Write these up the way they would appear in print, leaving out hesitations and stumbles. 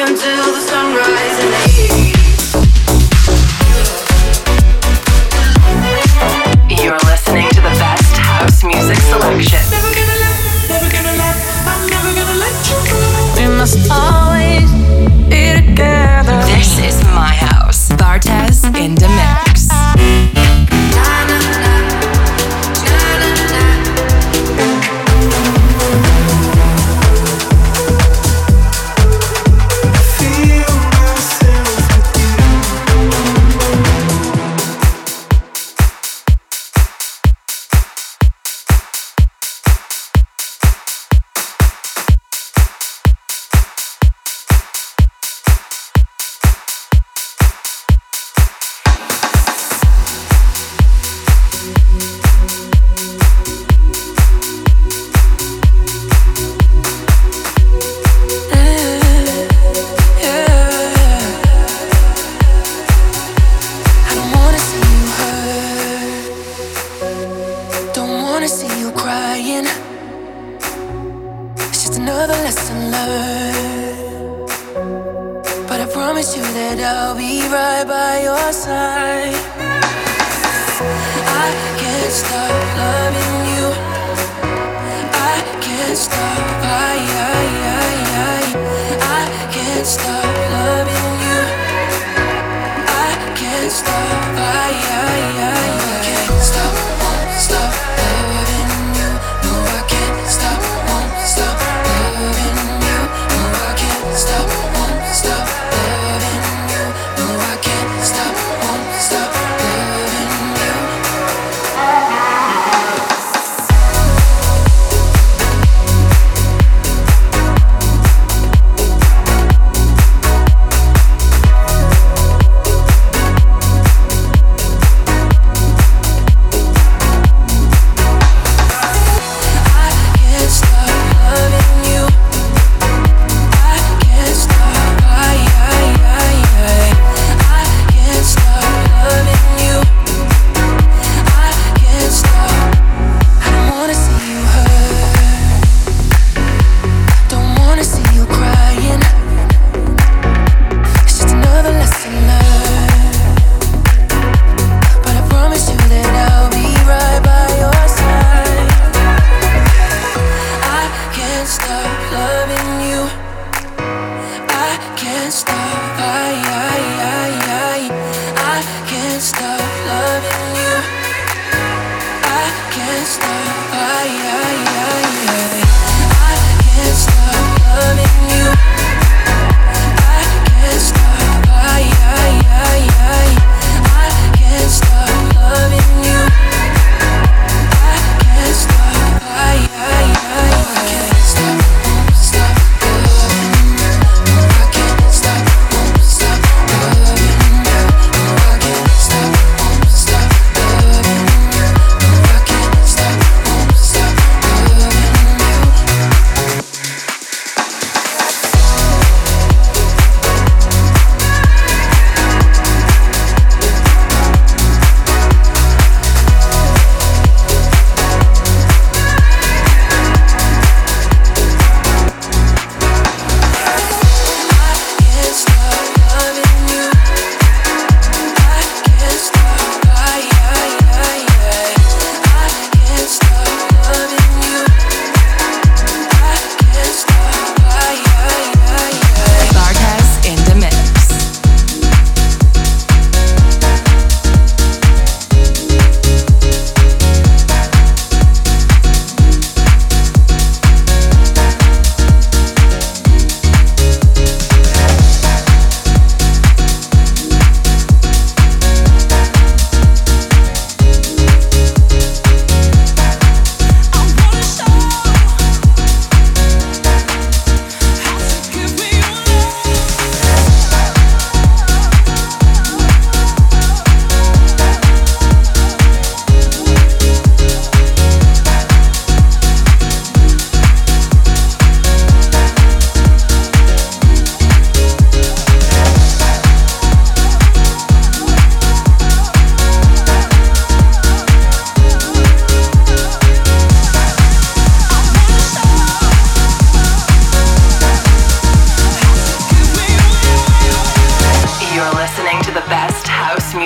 until the sunrise in the You're listening to the best house music selection. Never gonna let, I'm never gonna let you go. We must always be together. This is my house. Bartez in the mix.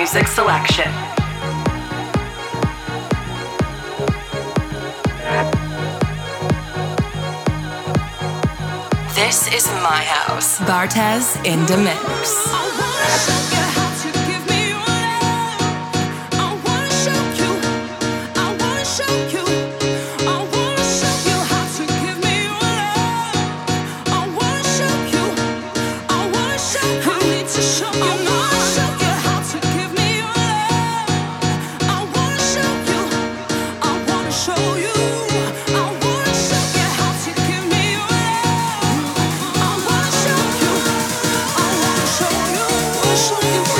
music selection. This is my house. Bartez in the mix. Show you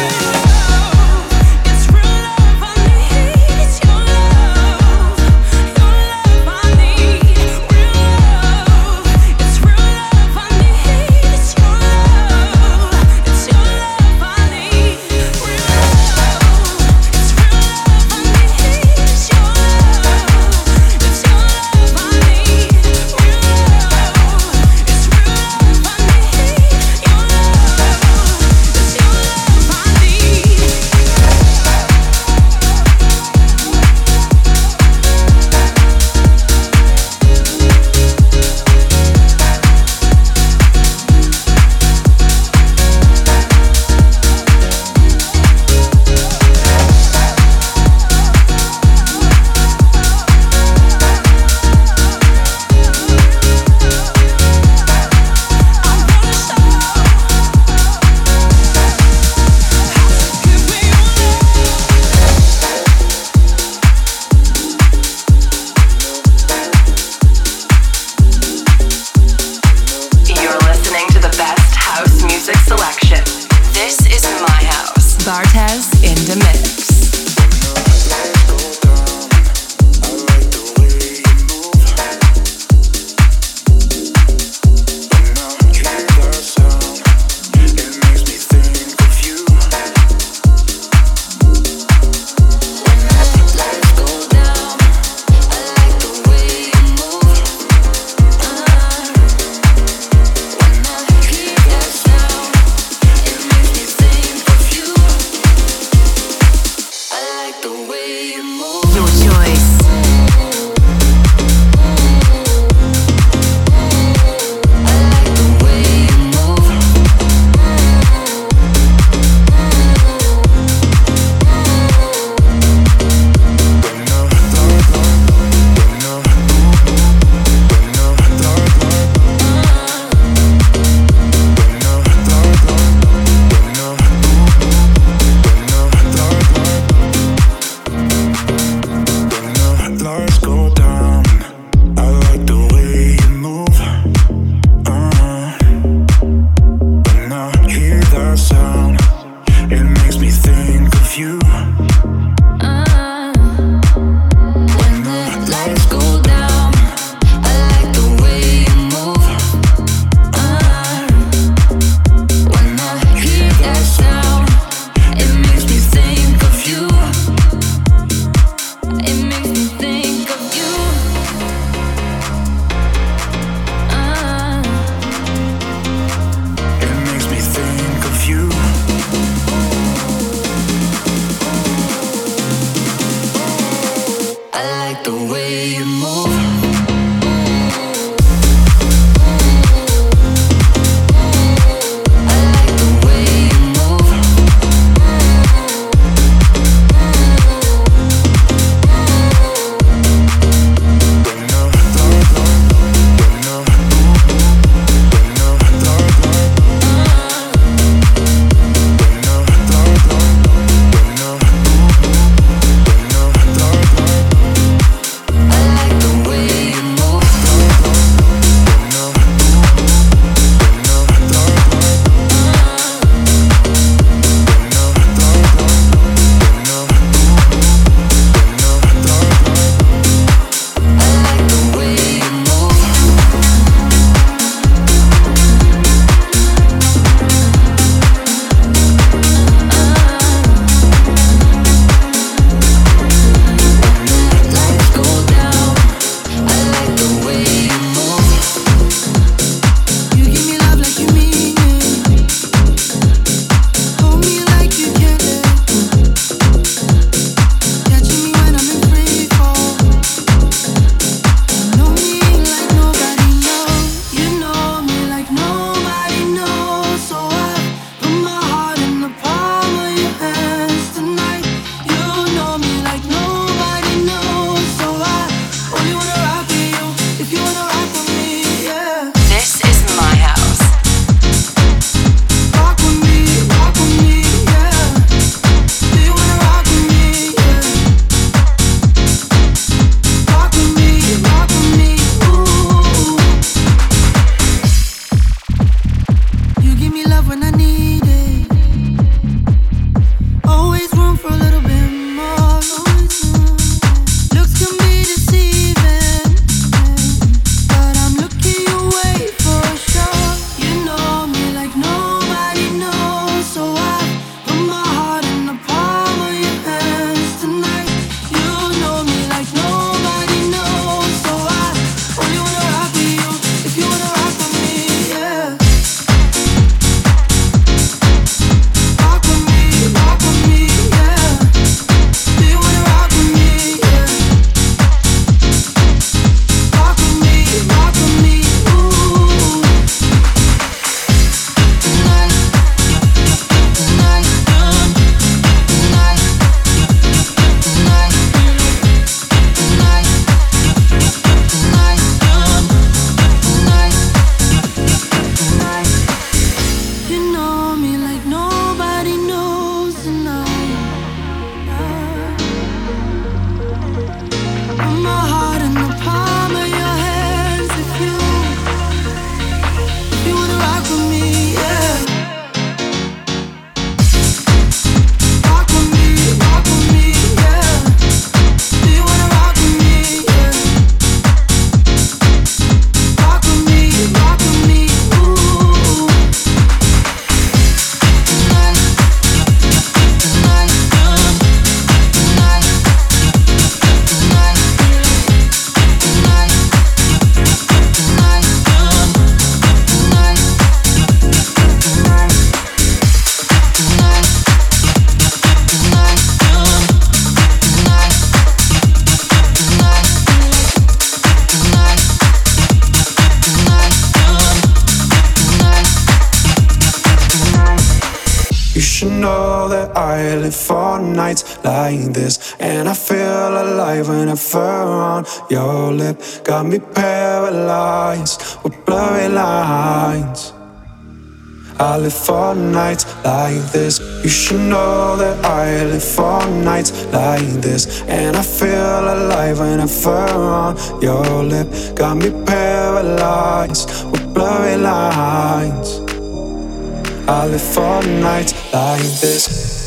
You should know that I live for nights like this, and I feel alive when I fur on your lip. Got me paralyzed with blurry lines. I live for nights like this. You should know that I live for nights like this, and I feel alive when I fur on your lip. Got me paralyzed with blurry lines. I live for nights like this.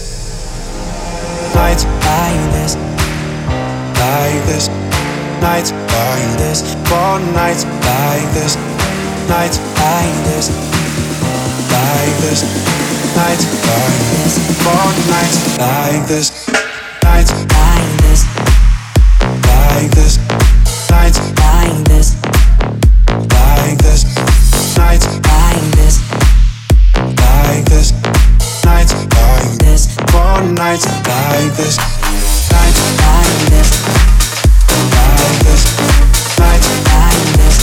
Nights like this. Like this. Nights like this. For nights like this. Nights like this. Like this. Nights like this. For nights like this. Nights like this. Like this. Nights like this. Like this. Nights like this. Like this, nights like this, for nights like this, nights like this, like this, nights like this,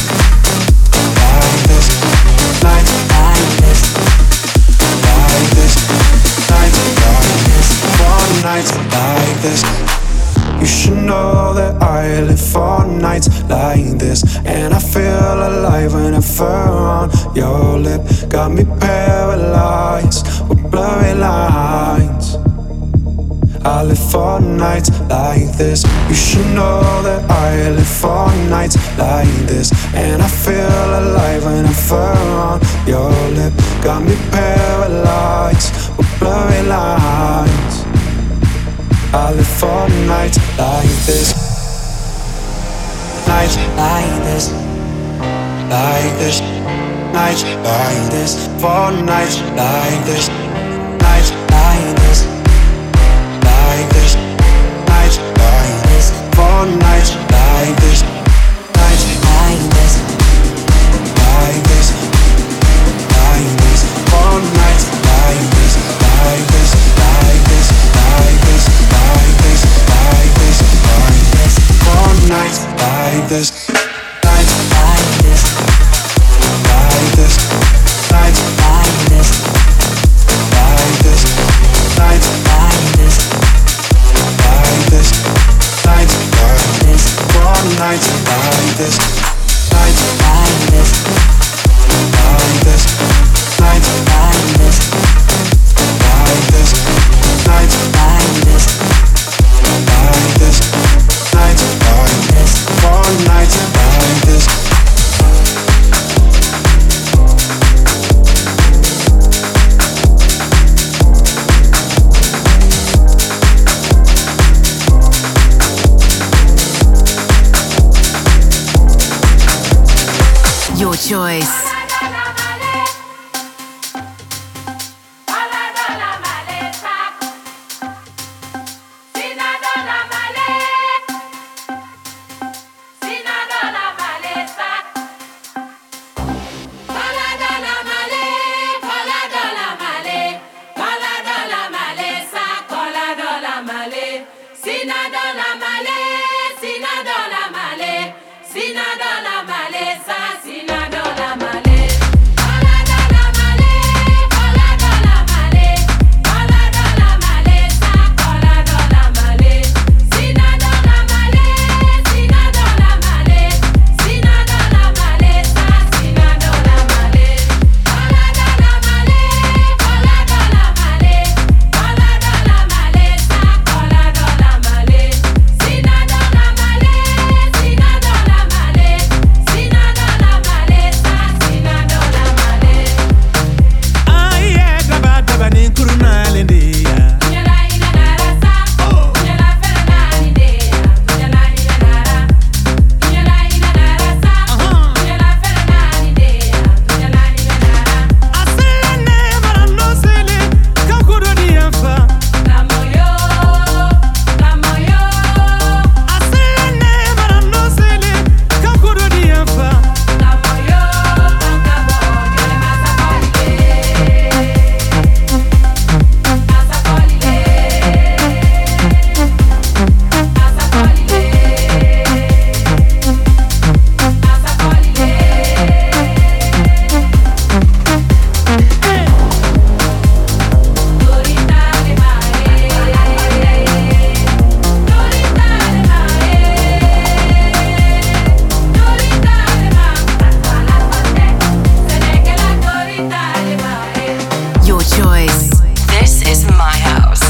like this, nights like this, like this, nights like this, for nights like this. You should know that I live for nights like this, and I feel alive when I fur on your lip. Got me paralyzed with blurry lines. I live for nights like this. You should know that I live for nights like this, and I feel alive when I fur on your lip. Got me paralyzed with blurry lines. I live for nights like this. Nights like this. Like this. Nights like this. For nights like this. Nights like this. Like this. Nights like this. For nights like this. Nights like this. Like this. Like this. For nights like this. Like this. Like this. Like this. Like this, like this, like this, for nights like this, nights like this, like this, nights like this, like this, nights like this, like this, nights like this, for nights like this, nights like this, like this, nights like this, like this, nights like this. Like this, nights like this, for nights like this. Your choice. Sina dola male sa, sina dola male. choice. This is my house.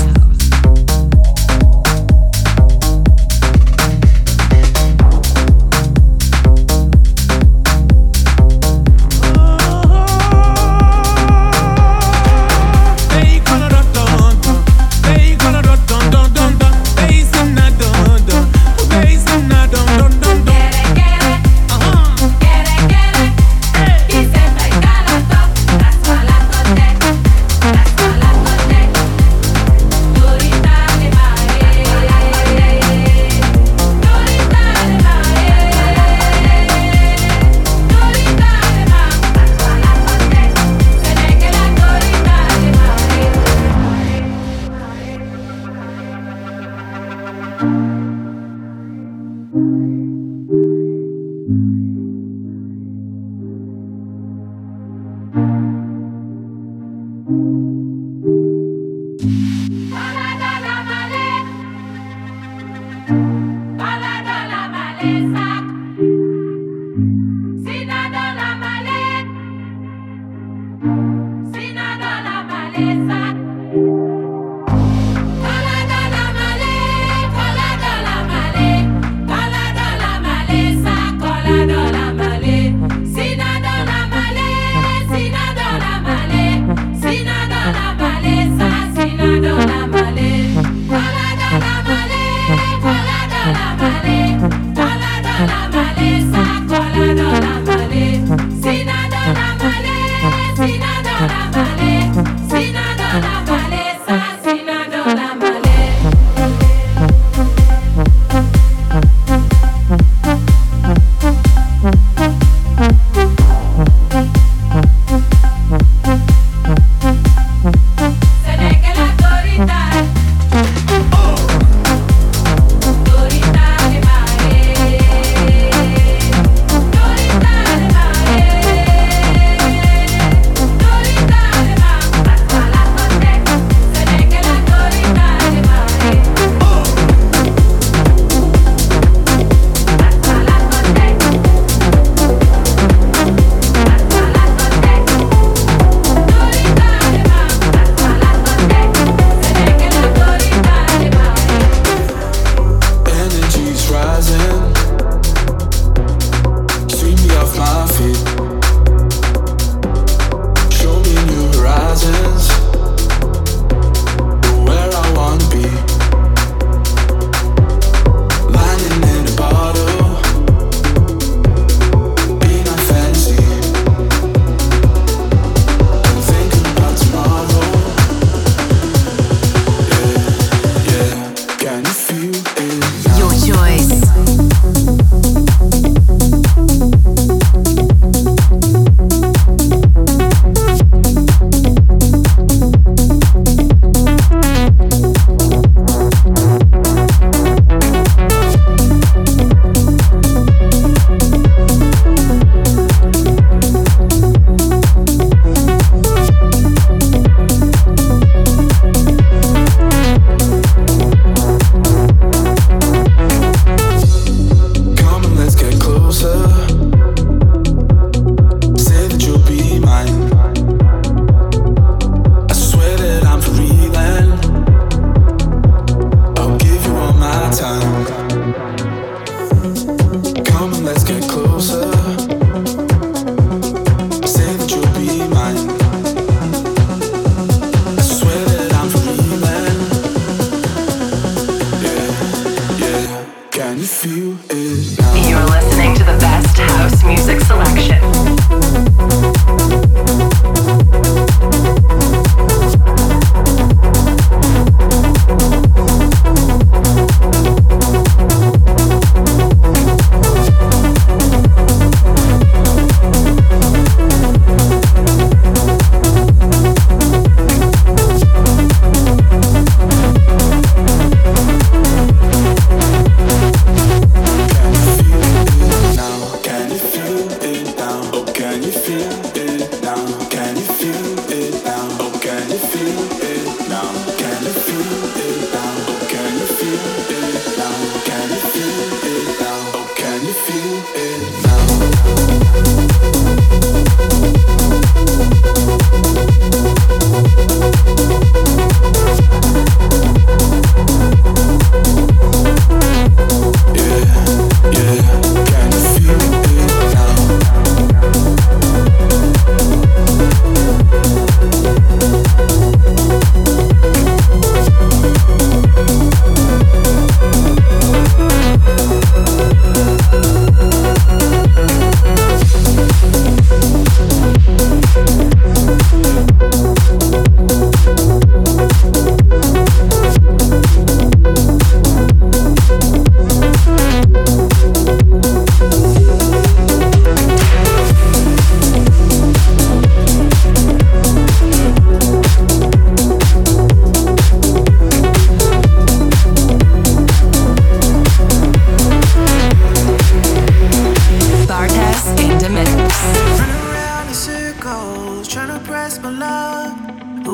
You're listening to the best house music selection.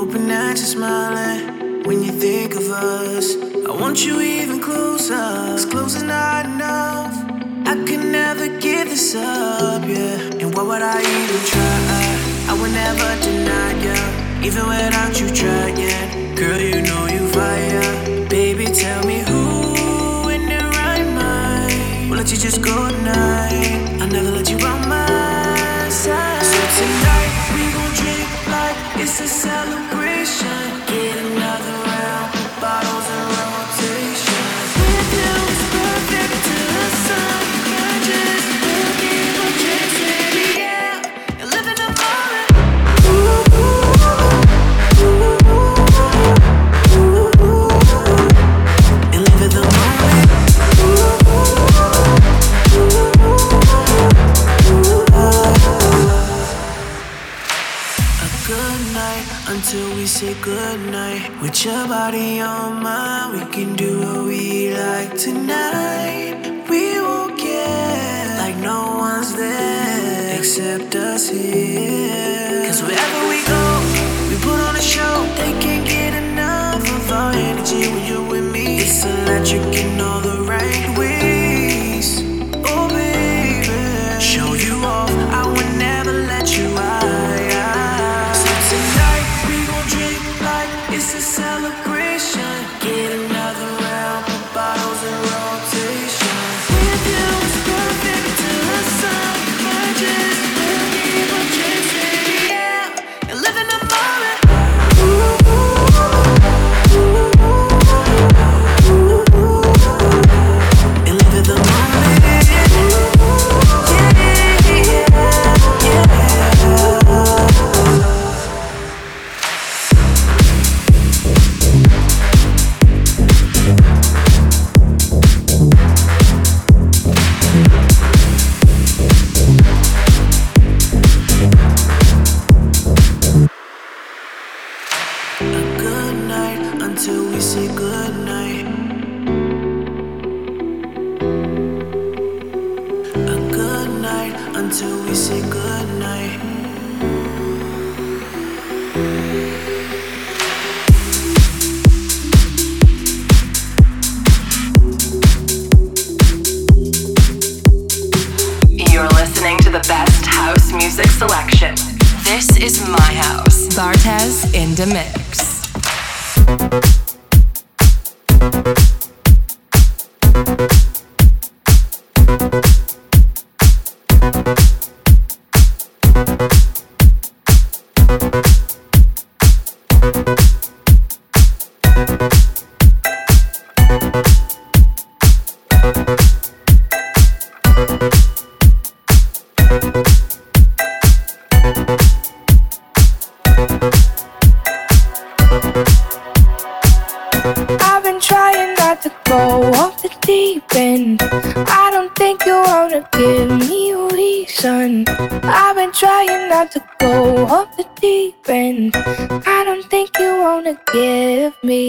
hoping that you're smiling when you think of us. I want you even closer, 'cause close is not enough. I could never give this up, yeah. And why would I even try? I would never deny you, even without you trying. Girl, you know you fire. Baby, tell me who in their right mind will let you just go tonight. I'll never let you out my side. So tonight we gon' drink like it's a celebration. Get another round, put bottles in rotation. With you it's perfect till the sun rises. We'll keep on chasing, yeah, and living the moment. Ooh, ooh, ooh, ooh, ooh, and living the moment. Ooh, ooh, ooh, a good night until we say goodnight. With your body on mine, we can do what we like tonight. We won't care like no one's there except us here. 'Cause wherever we go, we put on a show. They can't get enough of our energy when you're with me. It's electric in all the right ways. Oh baby, show you off, I would never let you out. So tonight we gon' drink like it's a celebration. Get another round, put bottles in rotation. With you it's perfect till the sun rises. We'll keep on chasing, yeah, and living the moment. Ooh, ooh, ooh, ooh, and living the moment. Yeah, yeah, yeah. A good night until we say goodnight. A good night until we say goodnight. You're listening to the best house music selection. This is my house. Bartez in the mix. I've been trying not to go off the deep end. I don't think you wanna give me a reason. I've been trying not to go off the deep end. I don't think you wanna give me.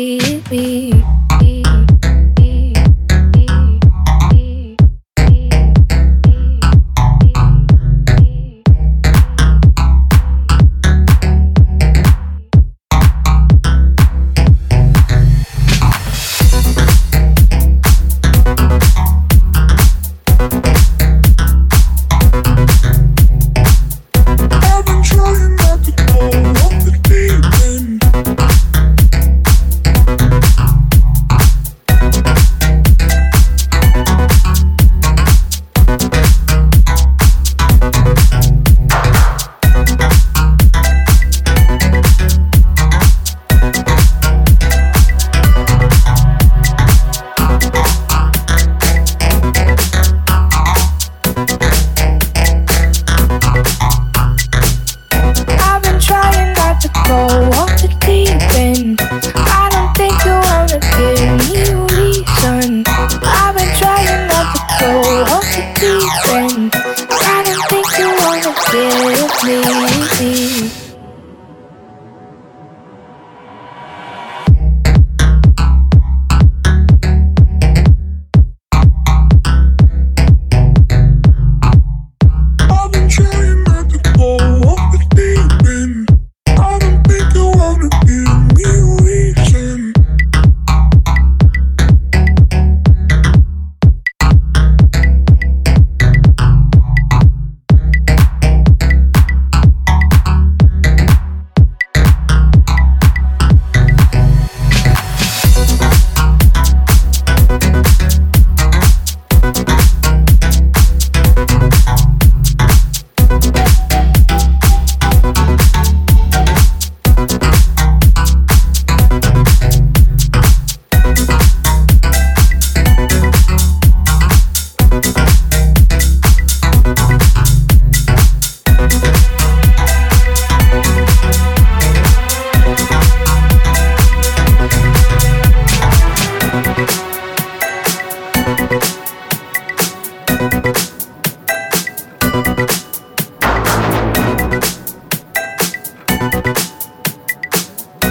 Trying not to go off the deep end. I don't think you wanna be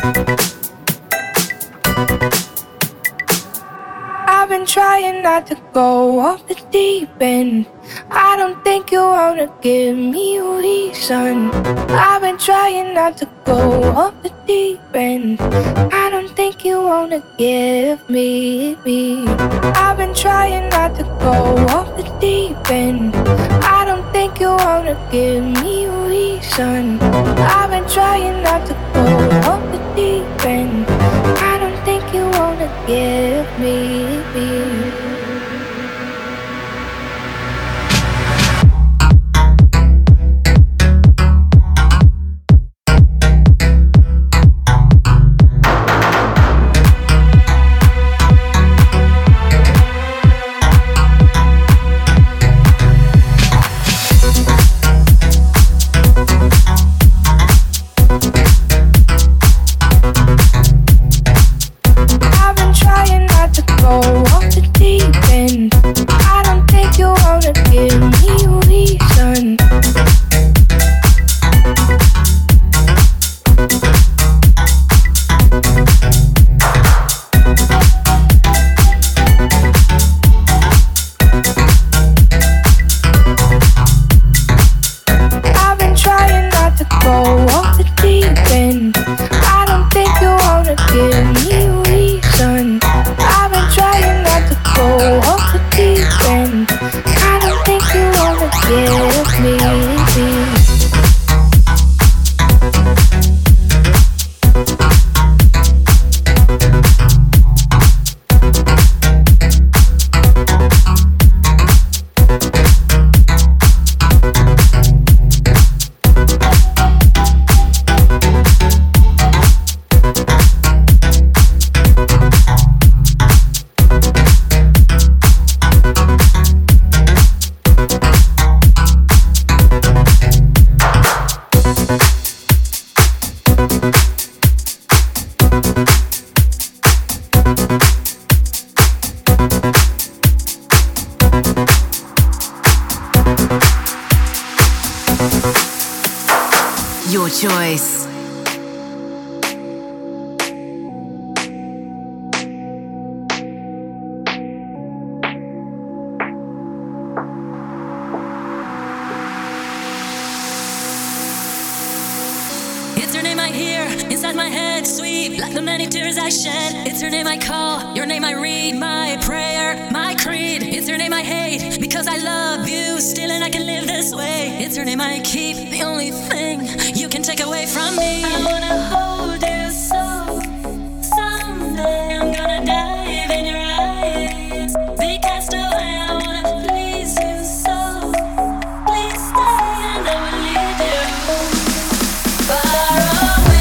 I've been trying not to go off the deep end. I don't think you wanna give me a reason. I've been trying not to go off the deep end. I don't think you wanna give me. I've been trying not to go off the deep end. I don't think you wanna give me a reason. I've been trying not to go off the deep end. I don't think you wanna give me. Your choice. It's her name I hear inside my head, sweet like the many tears I shed. It's her name I call, your name I read, my prayer, my creed. It's her name I hate because I love you still and I can live this way. It's her name I keep, the only thing you can take away from me. I wanna hold you so someday I'm gonna dive in your eyes, be cast away. I wanna please you so please stay and I will lead you far away.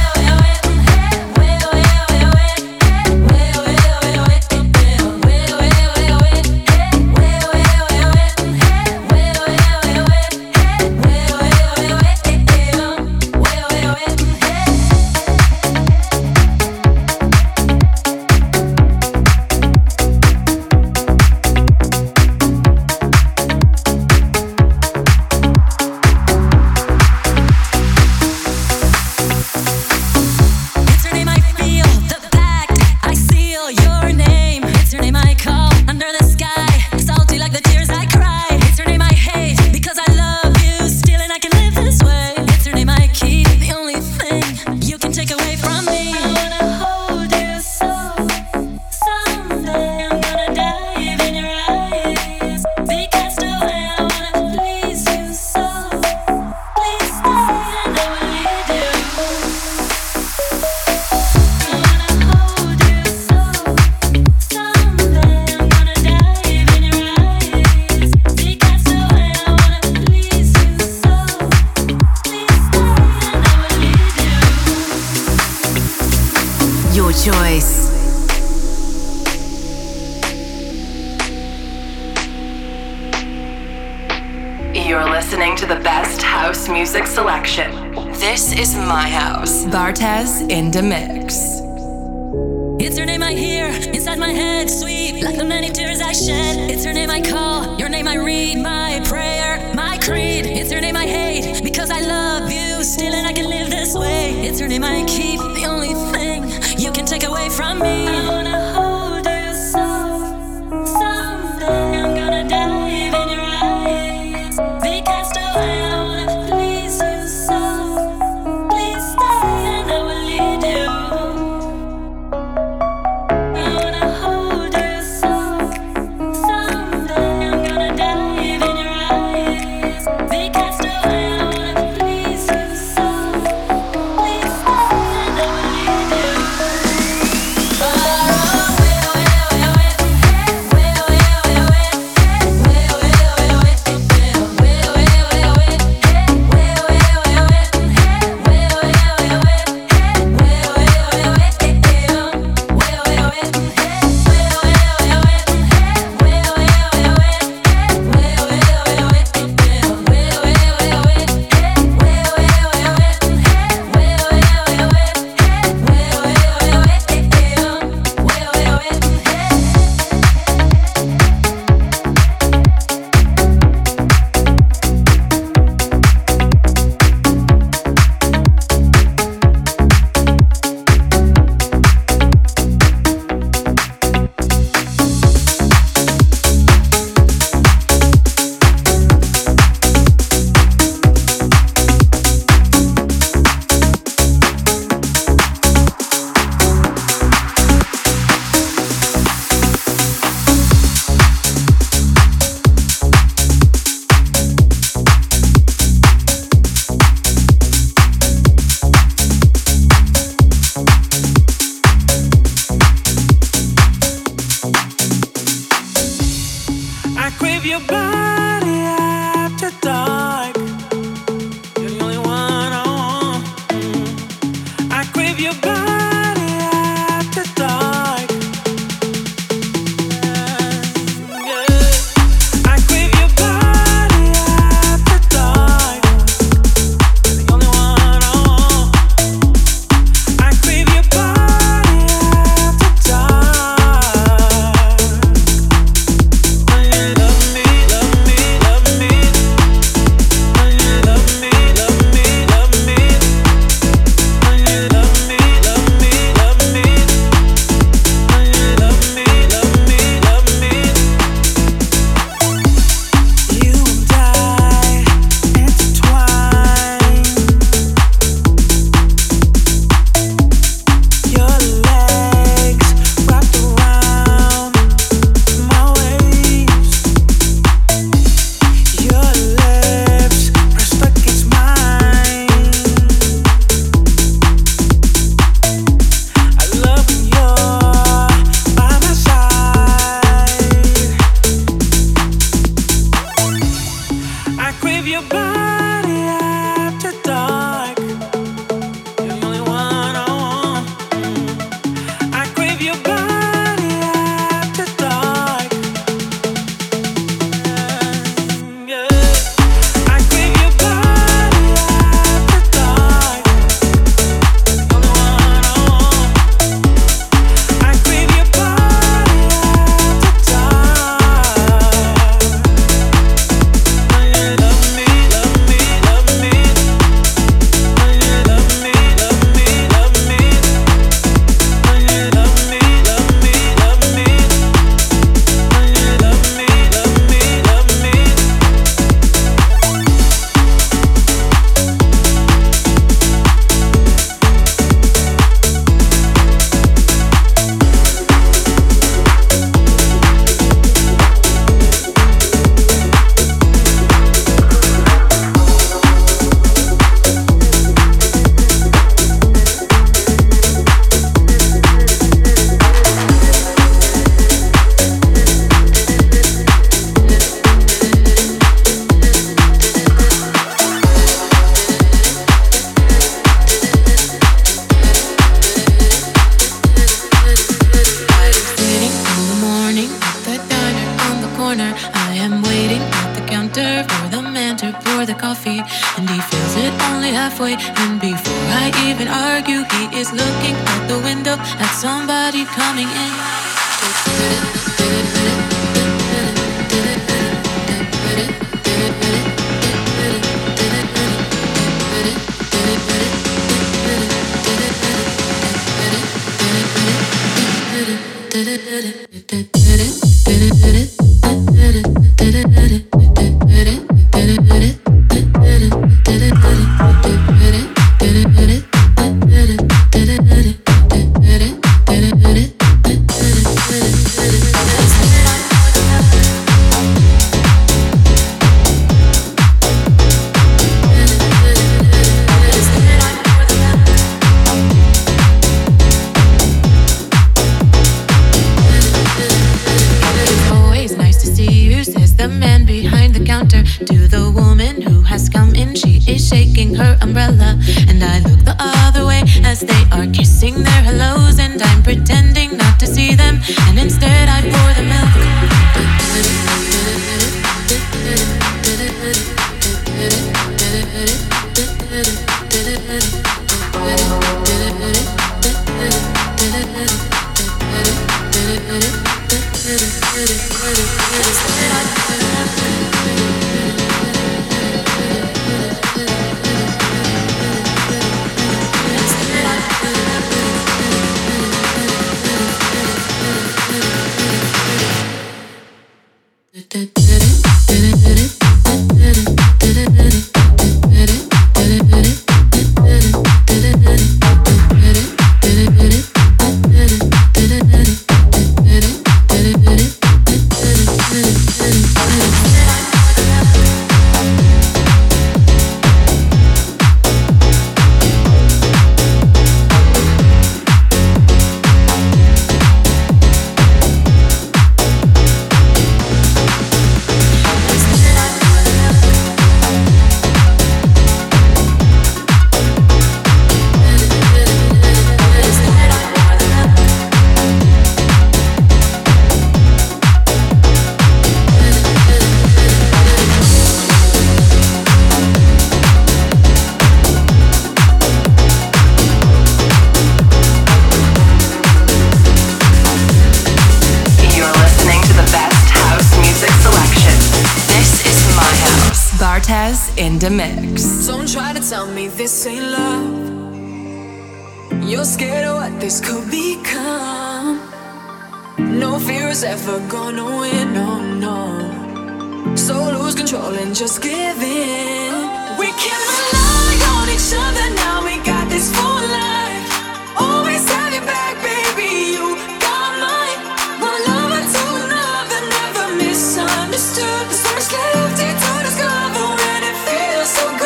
Choice. You're listening to the best house music selection. This is my house. Bartez in the mix. It's her name I hear inside my head, sweet like the many tears I shed. It's her name I call, your name I read, my prayer, my creed. It's her name I hate because I love you still and I can live this this way. It's her name I keep, the only thing you can take away from me. I wanna hold you so, someday I'm gonna dive in your eyes. Be cast away, I wanna please you so. Please stay and I will lead you. I wanna hold you so, someday I'm gonna dive in your eyes. Be cast away, I wanna please you so. Please stay and I will lead you. Far away, away, away, away, away, away, away, away, away, away, I crave your body after dark. You're the only one I want. I crave your body after dark. Yeah. I crave your body after dark. You're the only one I want. I crave your body after dark. When you love me, love me, love me. When you love me, love me, love me. When you love me, love me, love me. When you love me, love me, love me. You and I intertwine. Your legs wrapped around my waist. Your lips pressed against mine. I love when you're by my side. I crave your body after dark. You're the only one I want. I crave your body after dark. Yeah. I crave your body after dark. You're the only one I want. I crave your body after dark. When you love me, love me, love me. When you love me, love me, love me. When you love me, love me, love me. When you love me, love me, love me. Waiting in the morning at the diner on the corner. I am waiting at the counter for the man to pour the coffee, and he fills it only halfway. And before I even argue, he is looking out the window at somebody coming in. in the mix. Don't try to tell me this ain't love. You're scared of what this could become. No fear is ever gonna win, no, no. So lose control and just give in. We can rely on each other now, we got this for life. Always have your back, baby, you got mine. One lover to another, never misunderstood. There's so much left here to discover and it feels so good.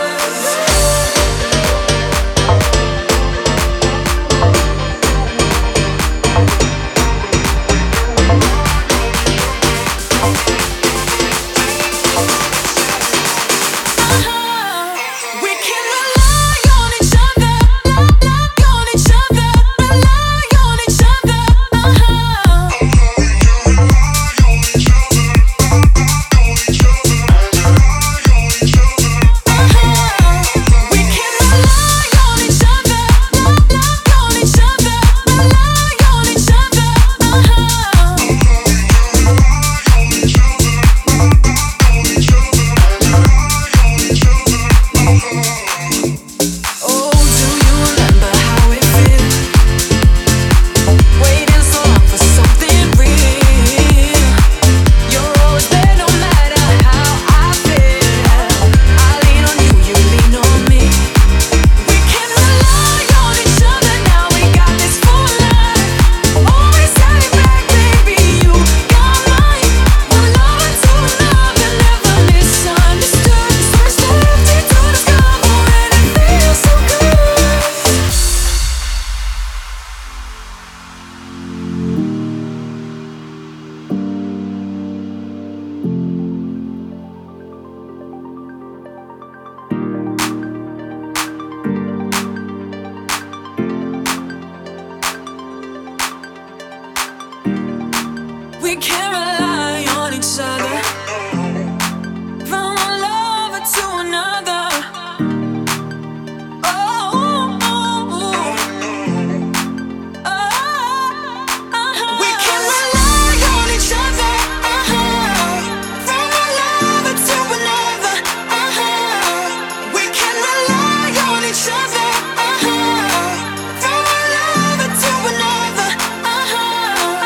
We can't rely on each other. From one lover to another. Oh, oh, oh. We can rely on each other. From one lover to another. We can rely on each other. From one lover to another.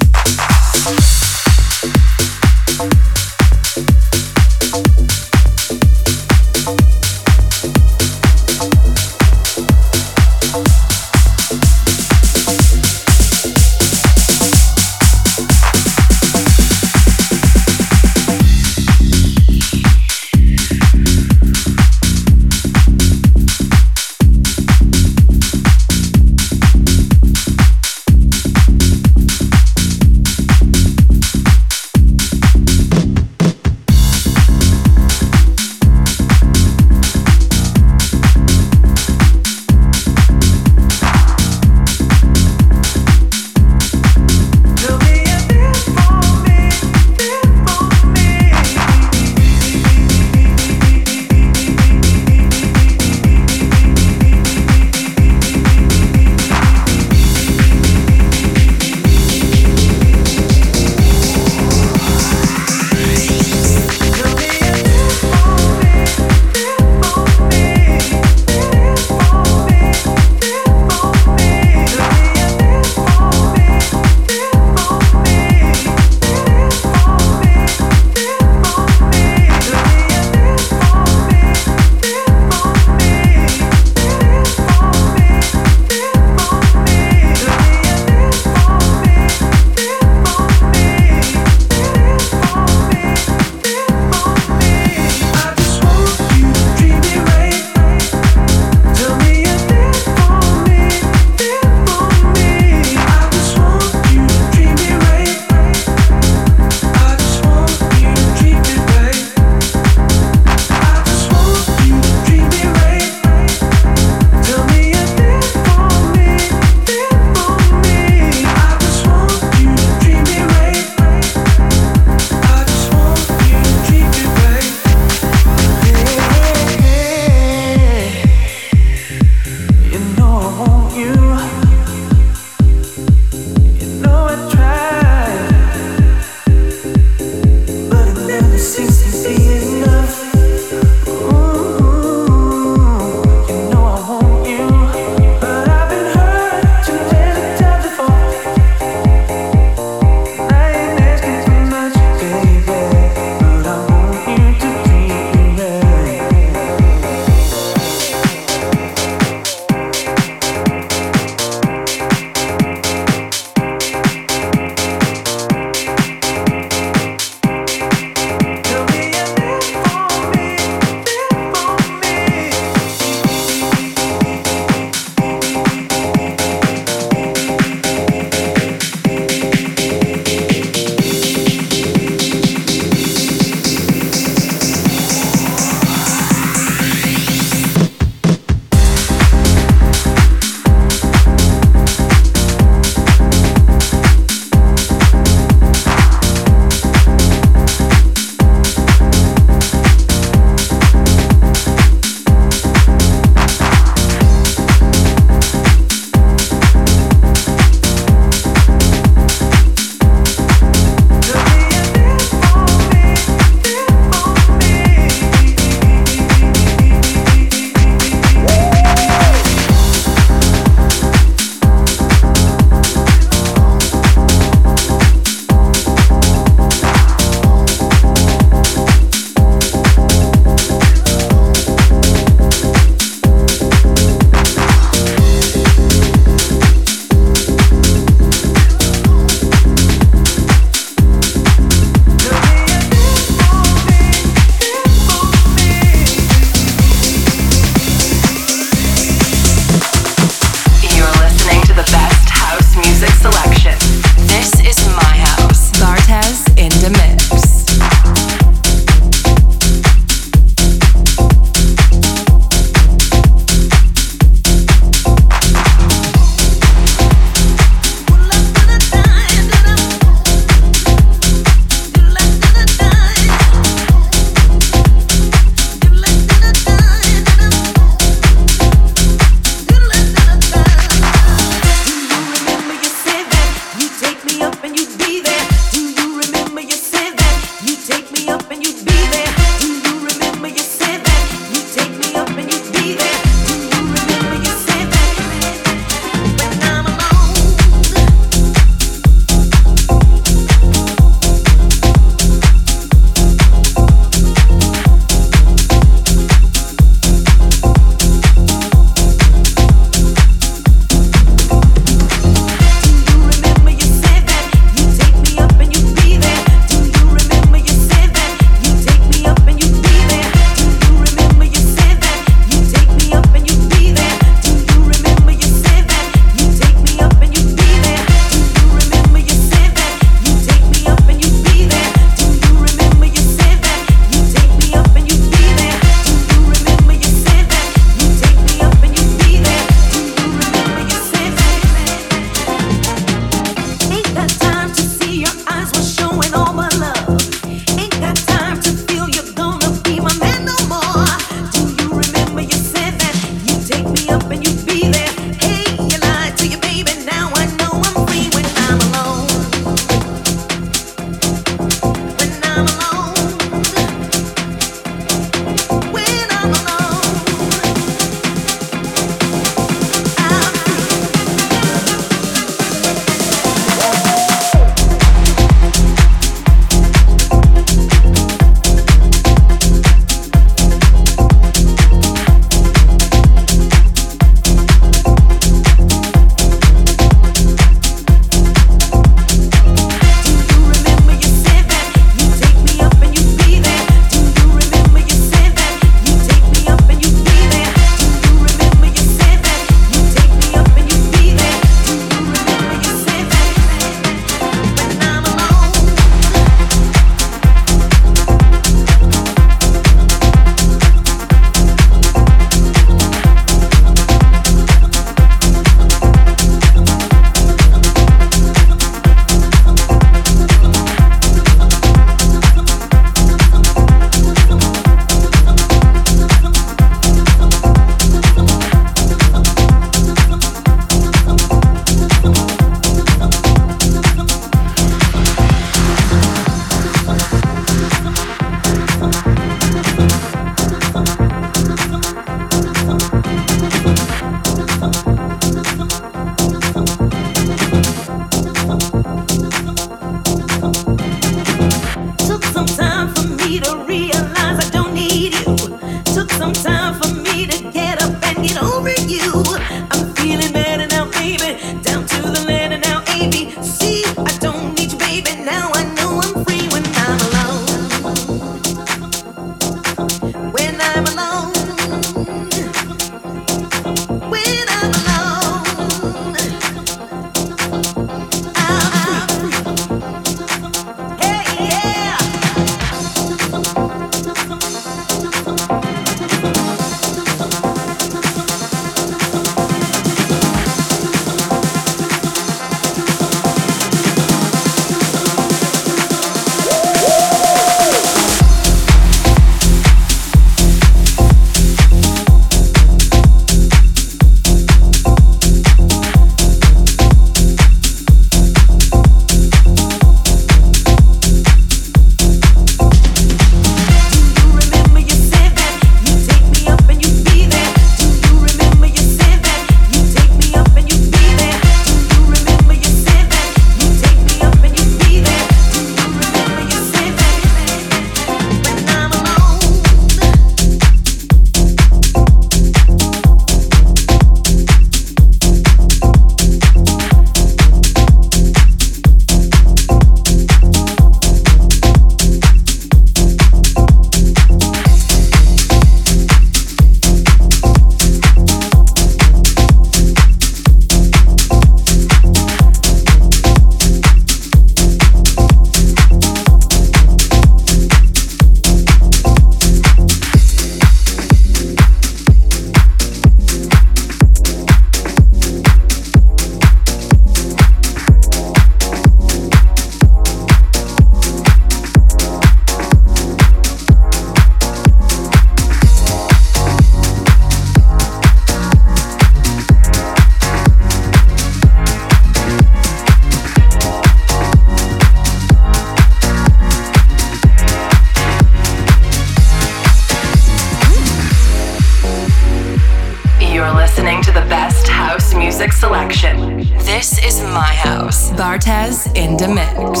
music selection. This is my house. Bartez in the mix.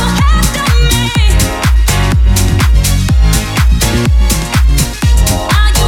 Are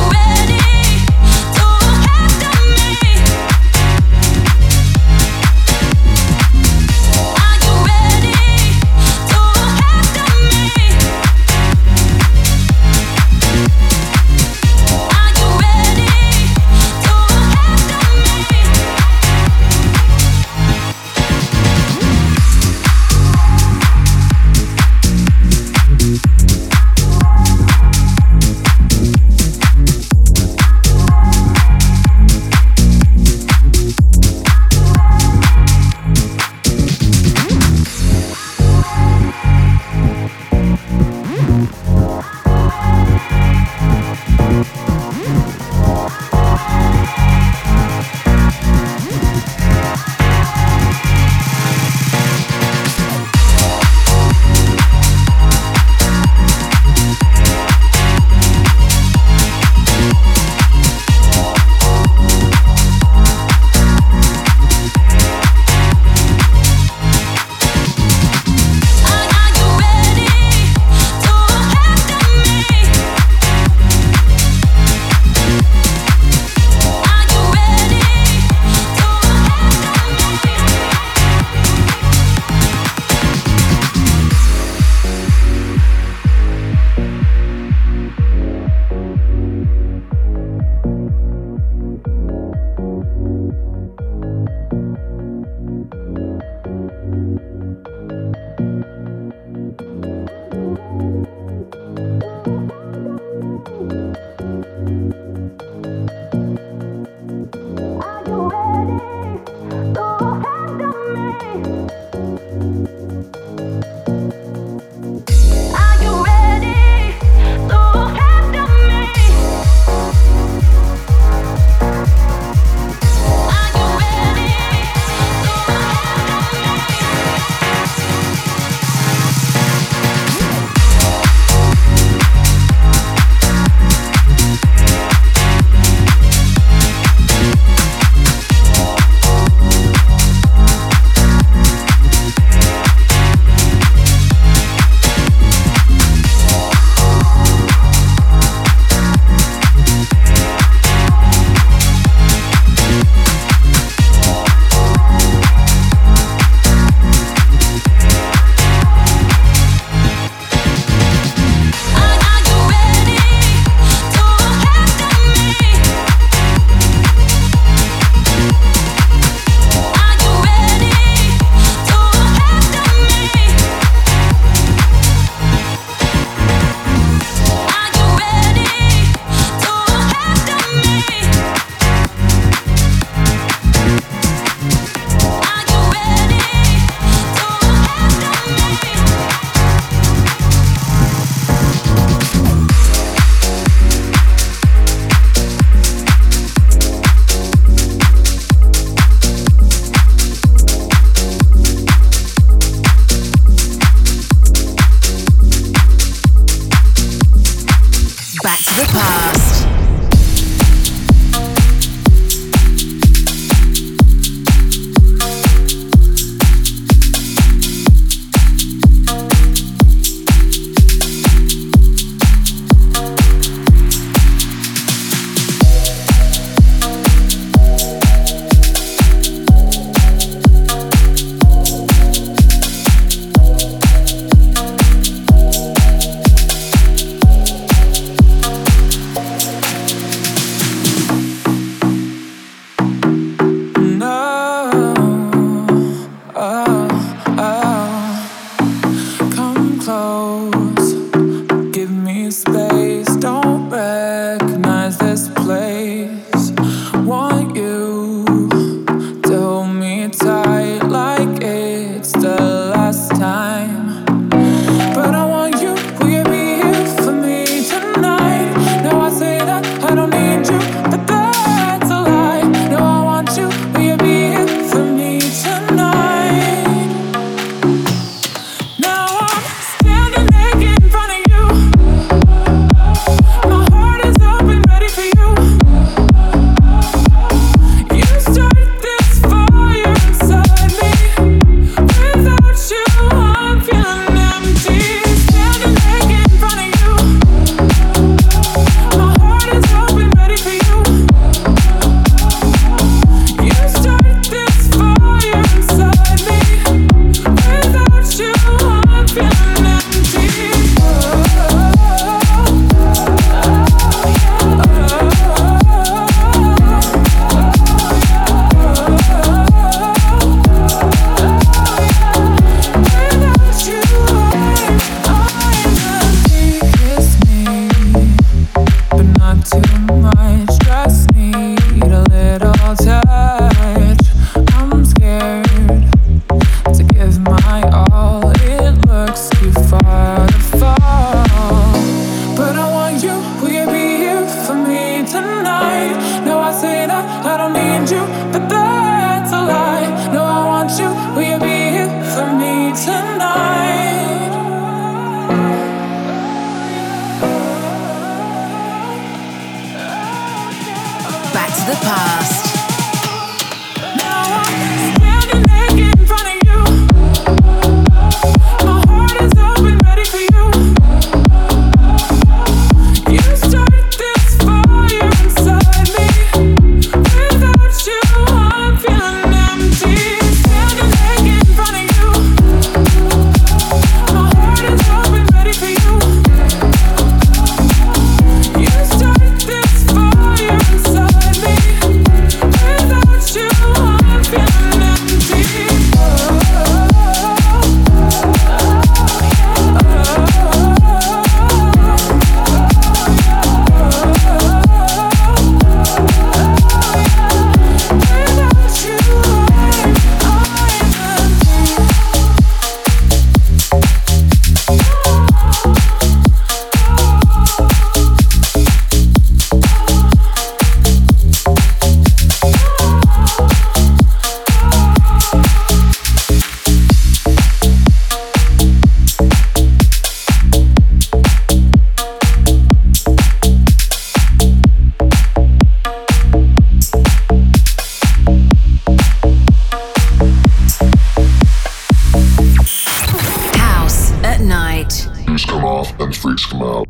Shoes come off and freaks come out.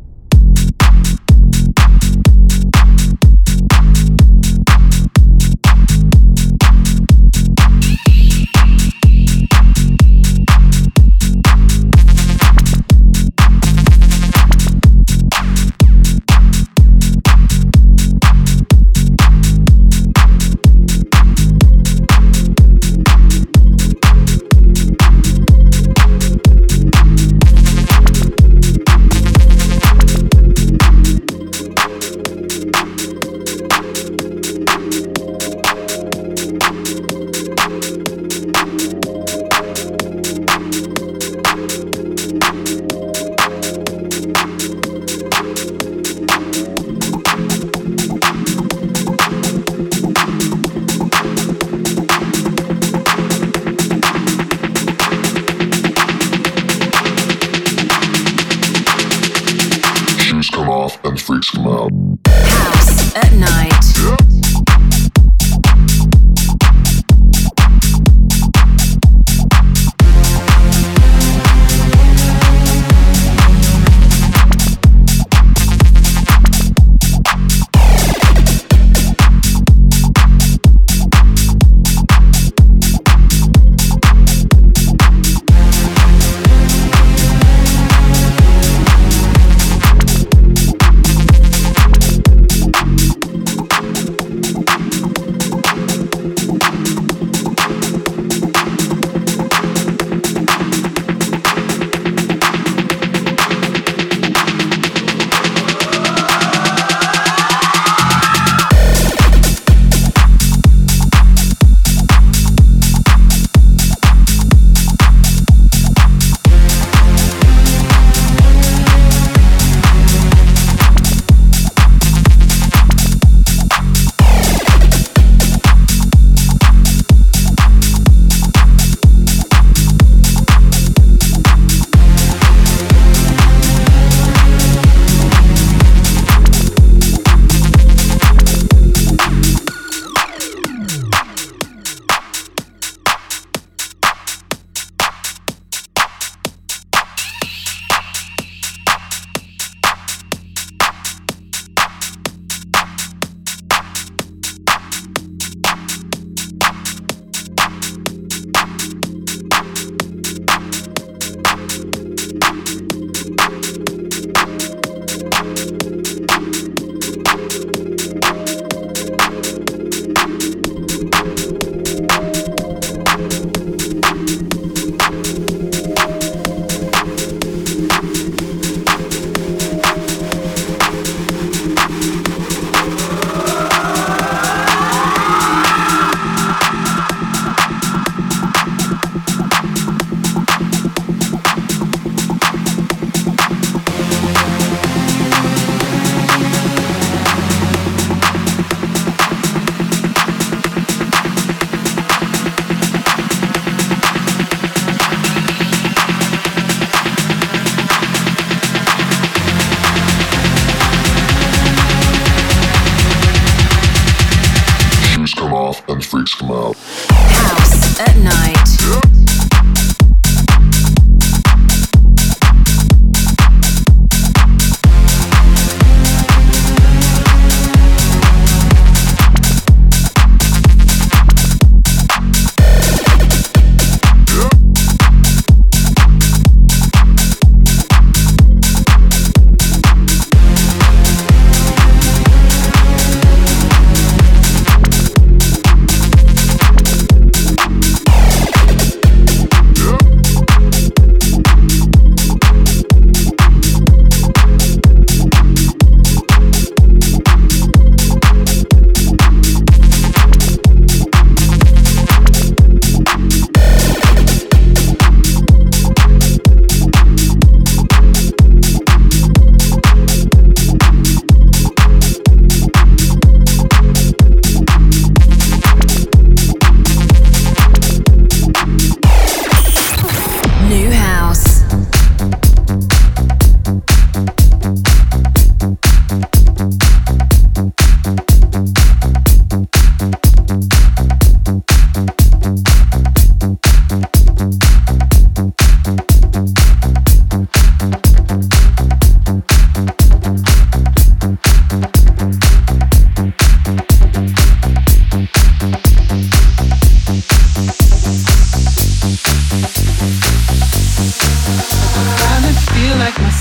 Come off and freaks come out. House at night.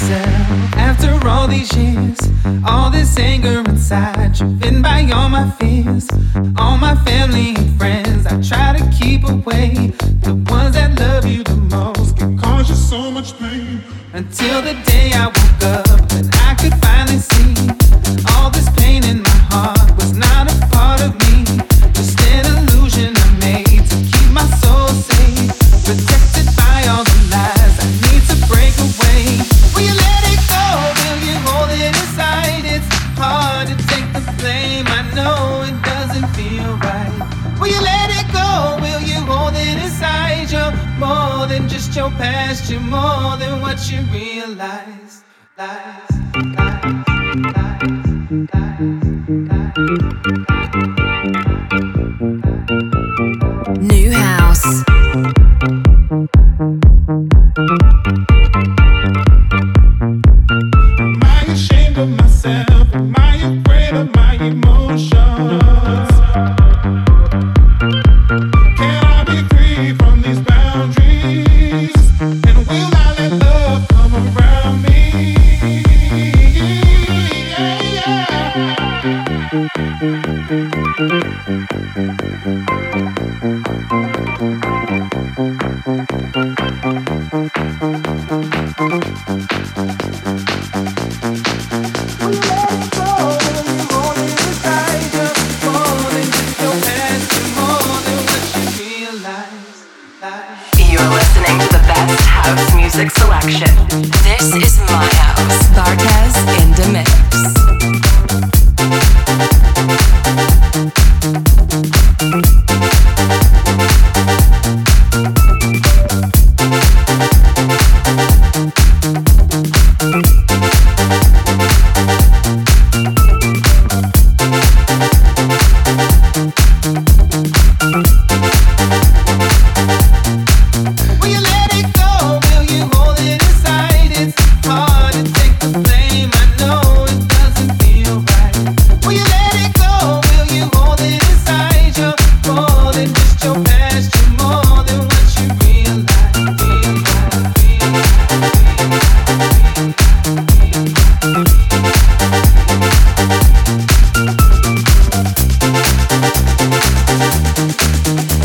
myself after all these years. All this anger inside, driven by all my fears. All my family and friends, I try to keep away. The ones that love you the most can cause you so much pain. Until the day I woke up and I could finally see all this pain in my heart was not a part of me. Just an illusion I made to keep my soul safe, protected by all the lies I need to break away. Will you let it go? Will you hold it inside? It's hard to take the blame, I know it doesn't feel right. Will you let it go? Will you hold it inside? You're more than just your past, you're more than what you realize. New house. Am I ashamed of myself? Am I afraid of my emotions? Can I be free from these boundaries? And will I let love come around me? You're listening to the best house music selection. This is my house. Bartez in the mix.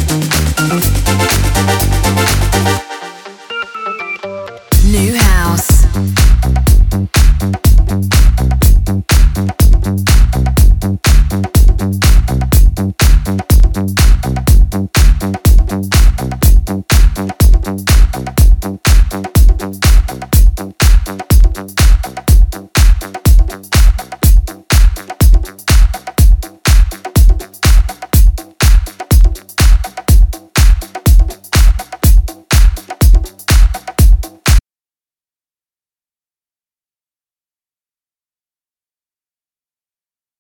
New house.